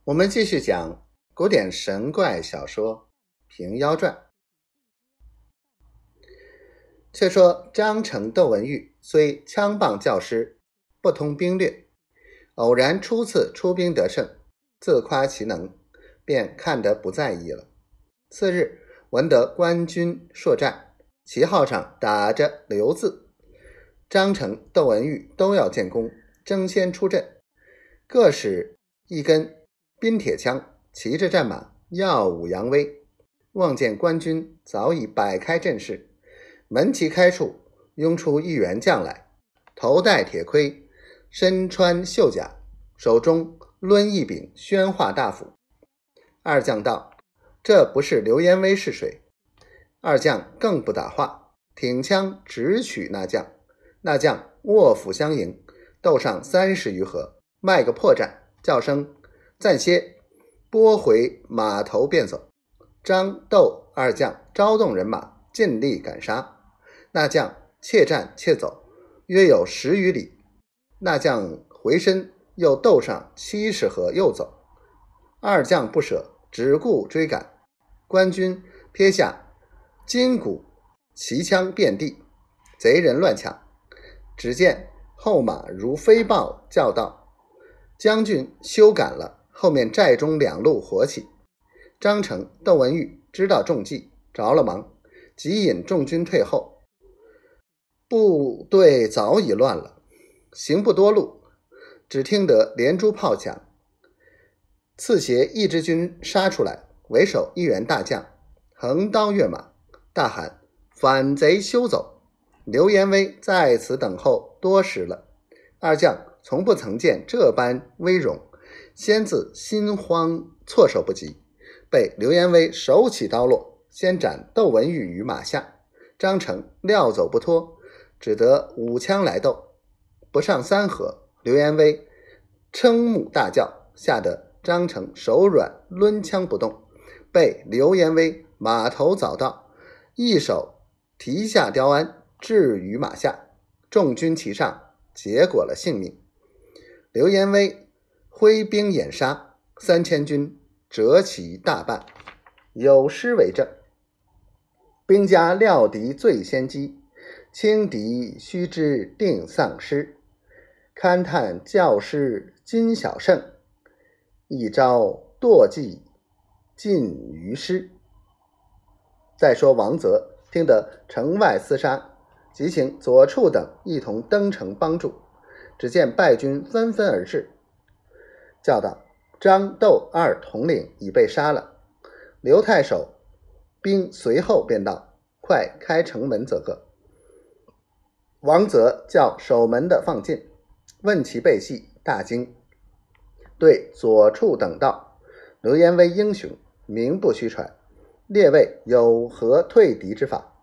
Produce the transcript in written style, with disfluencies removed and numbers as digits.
我们继续讲古典神怪小说《平妖传》。却说张成、窦文玉虽枪棒教师，不通兵略，偶然初次出兵得胜，自夸其能，便看得不在意了。次日闻得官军槊战，旗号上打着刘字，张成、窦文玉都要建功，争先出阵，各使一根冰铁枪，骑着战马，耀武扬威。望见官军早已摆开阵势，门旗开处拥出一员将来，头戴铁盔，身穿绣甲，手中抡一柄宣化大斧。二将道：这不是刘延威是谁？二将更不打话，挺枪直取那将。那将握斧相迎，斗上30余合，卖个破绽，叫声暂歇，拨回马头便走。张、窦二将招动人马，尽力赶杀。那将怯战怯走，约有10余里。那将回身又斗上70合又走。二将不舍，只顾追赶。官军撇下金鼓旗枪遍地，贼人乱抢。只见后马如飞豹，叫道：将军休赶了！后面寨中2路火起。张成、窦文玉知道中计，着了忙，即引众军退后。部队早已乱了，行不多路，只听得连珠炮响。刺斜一支军杀出来，为首一员大将，横刀跃马，大喊：反贼休走！刘延威在此等候多时了。二将从不曾见这般威容，先自心慌措手不及，被刘延威手起刀落，先斩窦文玉于马下。张成料走不脱，只得舞枪来斗。不上3合，刘延威瞠目大叫，吓得张成手软，抡枪不动，被刘延威马头早到，一手提下雕鞍，置于马下。众军齐上，结果了性命。刘延威挥兵掩杀，3000军折其大半，有诗为证：兵家料敌最先机，轻敌须知定丧失。勘探教师今小胜，一朝堕计尽于师。再说王泽听得城外厮杀，即请左处等一同登城帮助。只见败军纷纷而至，叫道：张、窦二统领已被杀了。刘太守兵随后便到，快开城门则个。王泽叫守门的放进，问其背细，大惊，对左处等道：刘延威英雄，名不虚传，列位有何退敌之法？